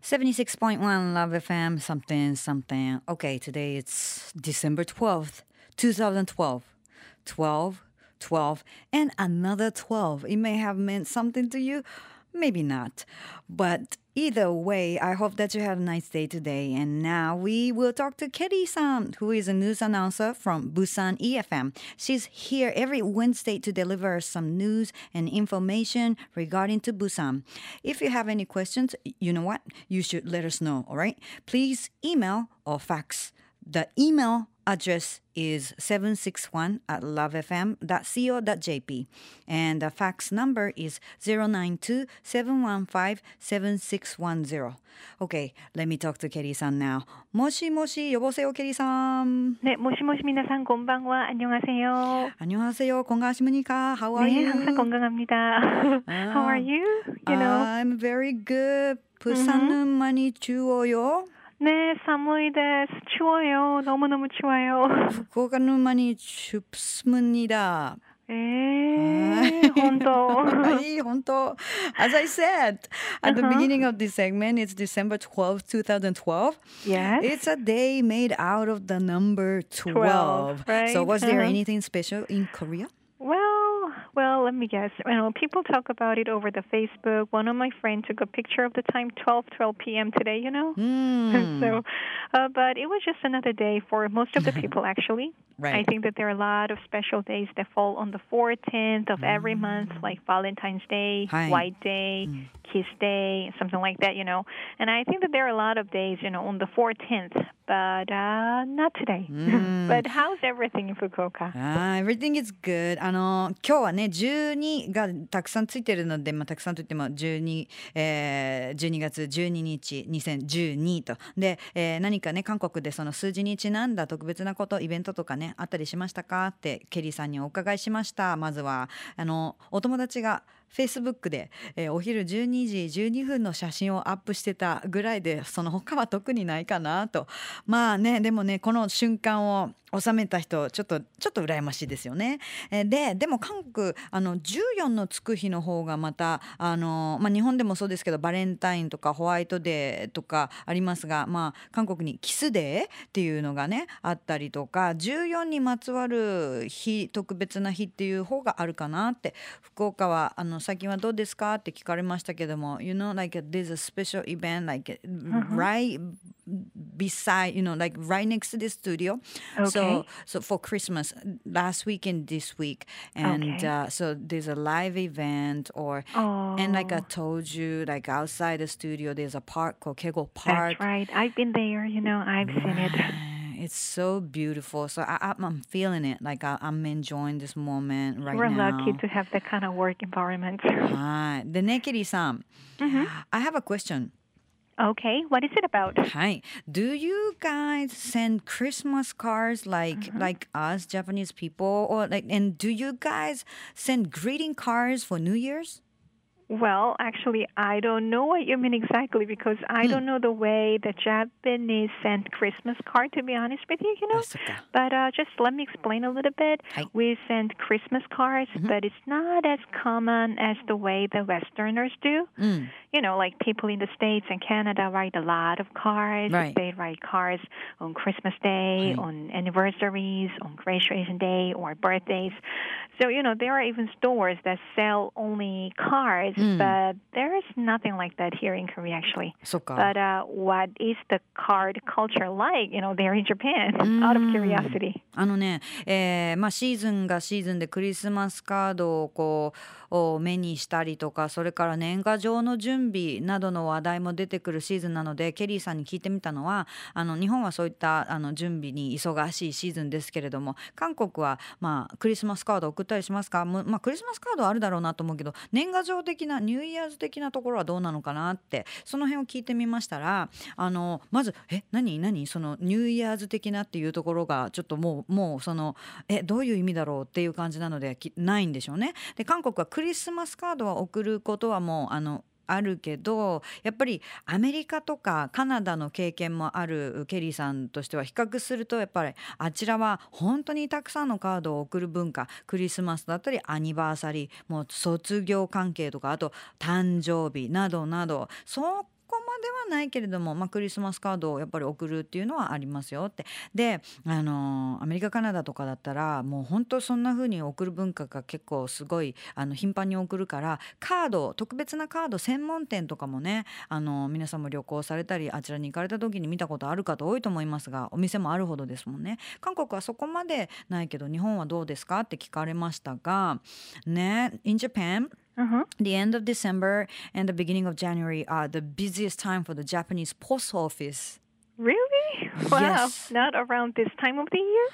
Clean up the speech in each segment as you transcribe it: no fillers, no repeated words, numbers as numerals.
76.1 Love FM, something, something. Okay, today it's December 12th, 2012. 12, 12, and another 12. It may have meant something to you, maybe not. But either way, I hope that you had a nice day today. And now we will talk to Keri-san, who is a news announcer from Busan EFM. She's here every Wednesday to deliver some news and information regarding to Busan. If you have any questions, you know what? You should let us know, all right? Please email or fax. The email address is 761@lovefm.co.jp and the fax number is 092-715-7610. Okay, let me talk to Keri-san now. もしもし, 여보세요, Keri-san. 네, 모시모시 미나상 곤방와 안녕하세요. 안녕하세요, 건강하십니까? How are you? 네, 항상 건강합니다. How are you? I'm very good. 부산은 많이 추워요? 네, 사무이 데스. 추워요. 너무너무 추워요. 후쿠오카는 많이 춥습니다. honto. honto. As I said at the beginning of this segment, it's December 12th, 2012. Yes. It's a day made out of the number 12. Right? So was there anything special in Korea? Well, let me guess. People talk about it over the Facebook. One of my friends took a picture of the time, 12 p.m. today, So, but it was just another day for most of the people, actually. Right. I think that there are a lot of special days that fall on the 14th of every month, like Valentine's Day, White Day, Kiss Day, something like that, And I think that there are a lot of days, on the 14th, but not today. But how's everything in Fukuoka? Everything is good. 今日はね、12がたくさんついてるので、たくさんといっても12月12日、2012と。で、何かね、韓国でその数字にちなんだ特別なこと、イベントとかね、あったりしましたかってケリーさんにお伺いしました。まずはお友達がFacebook で、お昼12時12分の写真をアップしてたぐらいで、その他は特にないかなと。まあね、でもね、この瞬間を収めた人ちょっと羨ましいですよね。でも韓国14のつく日の方がまた日本でもそうですけどバレンタインとかホワイトデーとかありますが、韓国にキスデーっていうのがねあったりとか、14にまつわる日、特別な日っていう方があるかなって。福岡は最近はどうですかって聞かれましたけども、like there's a special event like right beside, like right next to the studio. Okay. So for Christmas, last week and this week, and so there's a live event, and like I told you, like outside the studio, there's a park called Kegel Park. That's right. I've been there. I've seen it. It's so beautiful. So I'm feeling it. Like I'm enjoying this moment right We're now. We're lucky to have that kind of work environment. はい。でね、ケリーさん、I have a question. Okay, what is it about? Hi. Do you guys send Christmas cards like us Japanese people, and do you guys send greeting cards for New Year's? Well, actually, I don't know what you mean exactly because I don't know the way the Japanese send Christmas card, to be honest with you, But just let me explain a little bit. We send Christmas cards, but it's not as common as the way the Westerners do. Like people in the States and Canada write a lot of cards. Right. They write cards on Christmas Day, on anniversaries, on graduation day, or birthdays. So, there are even stores that sell only cards, but there is nothing like that here in Korea, actually. But what is the card culture like, there in Japan, out of curiosity? シーズンがシーズンでクリスマスカードを目にしたりとか、それから年賀状の準備などの話題も出てくるシーズンなので、ケリーさんに聞いてみたのは、日本はそういった準備に忙しいシーズンですけれども、韓国はクリスマスカード送ったりしますか？クリスマスカードはあるだろうなと思うけど、年賀状的なニューイヤーズ的なところはどうなのかなって、その辺を聞いてみましたら、まず何そのニューイヤーズ的なっていうところがちょっともうそのどういう意味だろうっていう感じなのでないんでしょうね。で、韓国はクリスマスカードは送ることはもうあるけど、やっぱりアメリカとかカナダの経験もあるケリーさんとしては比較すると、やっぱりあちらは本当にたくさんのカードを送る文化、クリスマスだったりアニバーサリー、もう卒業関係とか、あと誕生日などなど、そこまではないけれども、クリスマスカードをやっぱり送るっていうのはありますよって。で、アメリカカナダとかだったらもう本当そんな風に送る文化が結構すごい頻繁に送るから、カード、特別なカード専門店とかもね、皆さんも旅行されたりあちらに行かれた時に見たことある方多いと思いますが、お店もあるほどですもんね。韓国はそこまでないけど日本はどうですかって聞かれましたがね。 In Japan, the end of December and the beginning of January are the busiest time for the Japanese post office. Really? Wow. Yes. Not around this time of the year?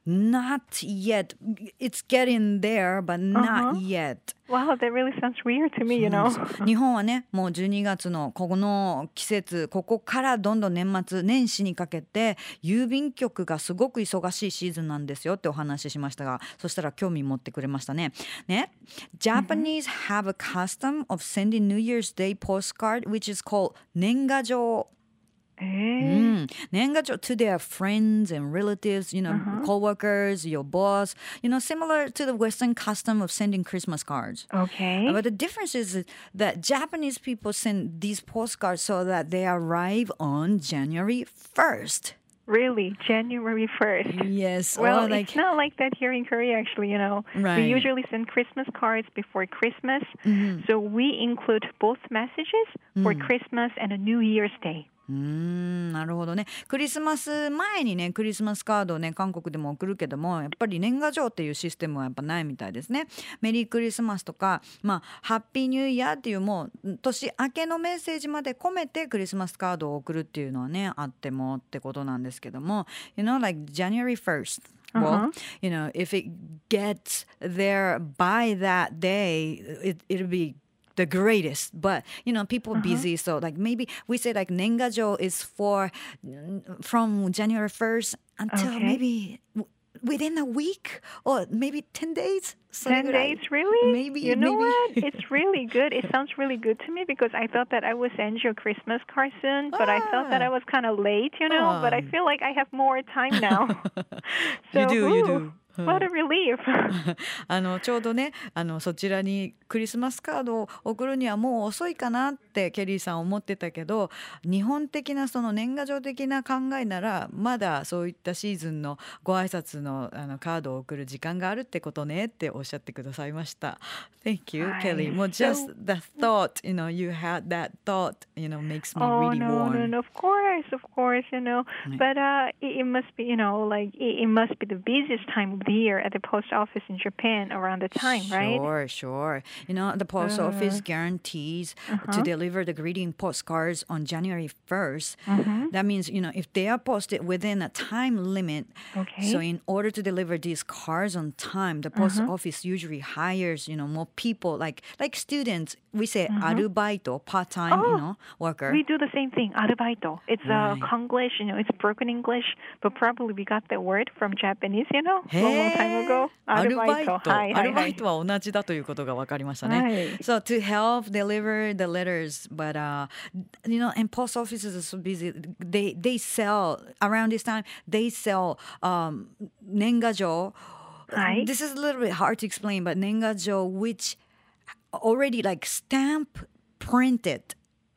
Not yet. It's getting there, but not yet. Wow, that really sounds weird to me, 日本はね、もう12月のこの季節、ここからどんどん年末年始にかけて郵便局がすごく忙しいシーズンなんですよってお話ししましたが、そしたら興味持ってくれましたね。Japanese have a custom of sending New Year's Day postcard which is called 年賀状。年賀状 to their friends and relatives, co-workers, your boss, similar to the Western custom of sending Christmas cards. Okay. But the difference is that Japanese people send these postcards so that they arrive on January 1st. Really? January 1st? Yes. Well, it's not like that here in Korea, actually, Right. We usually send Christmas cards before Christmas. So we include both messages for Christmas and a New Year's Day. なるほどね。クリスマス前にね、クリスマスカードをね、韓国でも送るけども、やっぱり年賀状っていうシステムはやっぱないみたいですね。メリークリスマスとか、ハッピーニューイヤーっていうもう年明けのメッセージまで込めてクリスマスカードを送るっていうのはね、あってもってことなんですけども、like January 1st. Well, if it gets there by that day, it'll be the greatest, but people busy, so like maybe we say like 年賀状 is for from January 1st until maybe within a week or maybe 10 days. 10 days, really? Maybe. You know what? It's really good. It sounds really good to me because I thought that I would send you a Christmas card soon, but I thought that I was kind of late, but I feel like I have more time now. So, you do. What a relief. ちょうどねそちらにクリスマスカードを送るにはもう遅いかなってケリーさん思ってたけど、日本的なその年賀状的な考えならまだそういったシーズンのご挨拶のカードを送る時間があるってことねっておっしゃってくださいました。Thank you, Kelly. もう just the thought, you had that thought, makes me really warm. No, of course, But it must be, like it must be the busiest time of the year at the post office in Japan around the time, right? Sure. The post office guarantees to deliver the greeting postcards on January 1st. That means, if they are posted within a time limit, so in order to deliver these cards on time, the post office usually hires, more people like students. We say アルバイト, part-time, worker. We do the same thing, アルバイト. It's Konglish, it's broken English, but probably we got that word from Japanese, long time ago. アルバイトは同じだということが分かりましたね。So to help deliver the letters, but and post offices are so busy. They sell around this time. They sell 年賀状. This is a little bit hard to explain, but 年賀状 which already like stamp printed.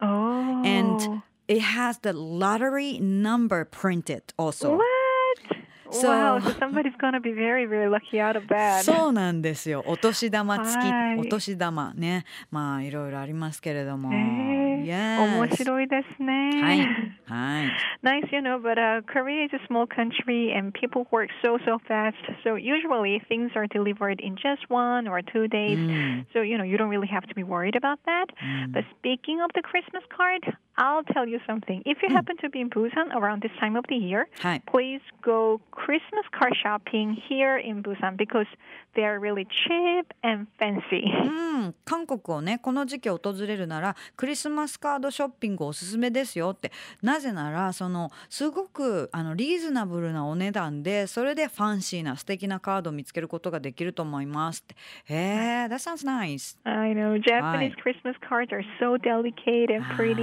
And it has the lottery number printed also. What? Wow, so somebody's going to be very, very lucky out of that. そうなんですよ。お年玉付き、お年玉ね。いろいろありますけれども。 面白いですね。 はい。 Nice, but Korea is a small country and people work so fast. So usually things are delivered in just 1 or 2 days. So, you don't really have to be worried about that. But speaking of the Christmas card, I'll tell you something. If you happen to be in Busan around this time of the year, please go Christmas card shopping here in Busan because they are really cheap and fancy. 韓国をね、この時期訪れるならクリスマスカードショッピングおすすめですよって。なぜならすごくリーズナブルなお値段で、それでファンシーな素敵なカードを見つけることができると思いますって。That sounds nice. I know. Japanese Christmas cards are so delicate and pretty, but to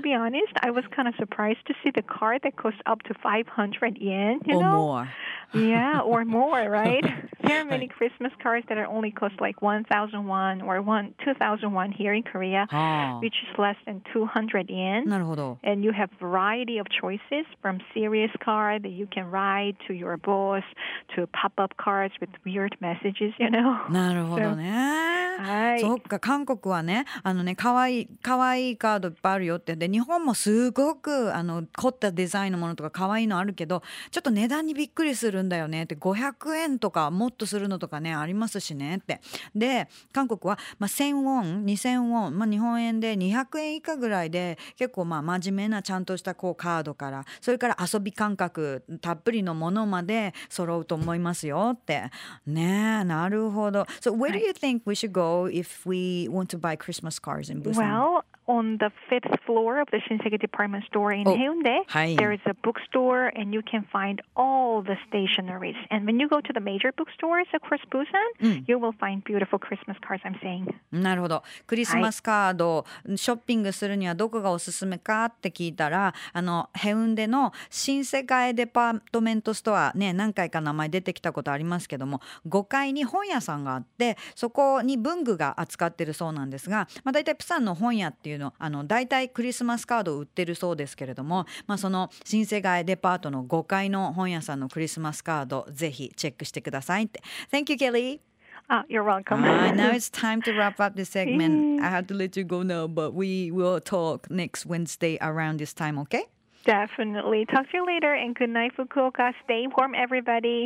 be honest, I was kind of surprised to see the card that costs up to 500 yen, you or know? more. Yeah, or more, right? There are many Christmas cards that are only cost like 1,000 won or 2,000 won here in Korea, which is less than 200 yen. なるほど。 And you have variety of choices from serious card that you can write to your boss to pop-up cards with weird messages, you know? なるほどね。 はい。 そっか、韓国はね、可愛いカードいっぱいあるよって。で、日本もすごく凝ったデザインのものとか可愛いのあるけど、ちょっと値段にびっくりするんだよねって、500円とかもっとするのとかね、ありますしねって。で、韓国は、1000ウォン、2000ウォン、日本円で200円以下ぐらいで、結構真面目なちゃんとしたこうカードから、それから遊び感覚たっぷりのものまで揃うと思いますよって。ねえ、なるほど。So where do you think we should go if we want to buy Christmas cards in Busan? Well, on the 5th floor of the Shinsegae department store in Haeundae, はい。 there is a bookstore and you can find all the stationeries. And when you go to the major bookstores across Busan, you will find beautiful Christmas cards, I'm saying. なるほど。クリスマスカード、ショッピングするにはどこがおすすめかって聞いたら、ヘウンデの新世界デパートメントストアね、何回か名前出てきたことありますけども、5階に本屋さんがあって、そこに文具が扱ってるそうなんですが、だいたいプサンの本屋っていうの、だいたいクリスマスカードを売ってるそうですけれども、その新世界デパートの5階の本屋さんのクリスマスカード、ぜひチェックしてくださいって。Thank you, Kelly. You're welcome. Now it's time to wrap up this segment. I have to let you go now, but we will talk next Wednesday around this time, okay? Definitely. Talk to you later and good night, Fukuoka. Stay warm, everybody.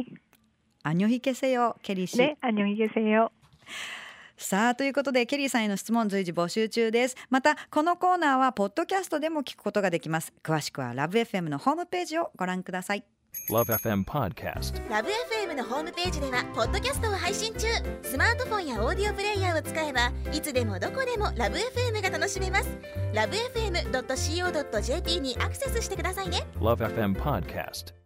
안녕히 계세요, 케리 씨. 네, 안녕히 계세요. さあということでケリーさんへの質問随時募集中です。またこのコーナーはポッドキャストでも聞くことができます。詳しくはラブ FM のホームページをご覧ください。 Love FM Podcast。 ラブ FM のホームページではポッドキャストを配信中。スマートフォンやオーディオプレイヤーを使えばいつでもどこでもラブ FM が楽しめます。ラブ FM.co.jp にアクセスしてくださいね。 Love FM Podcast。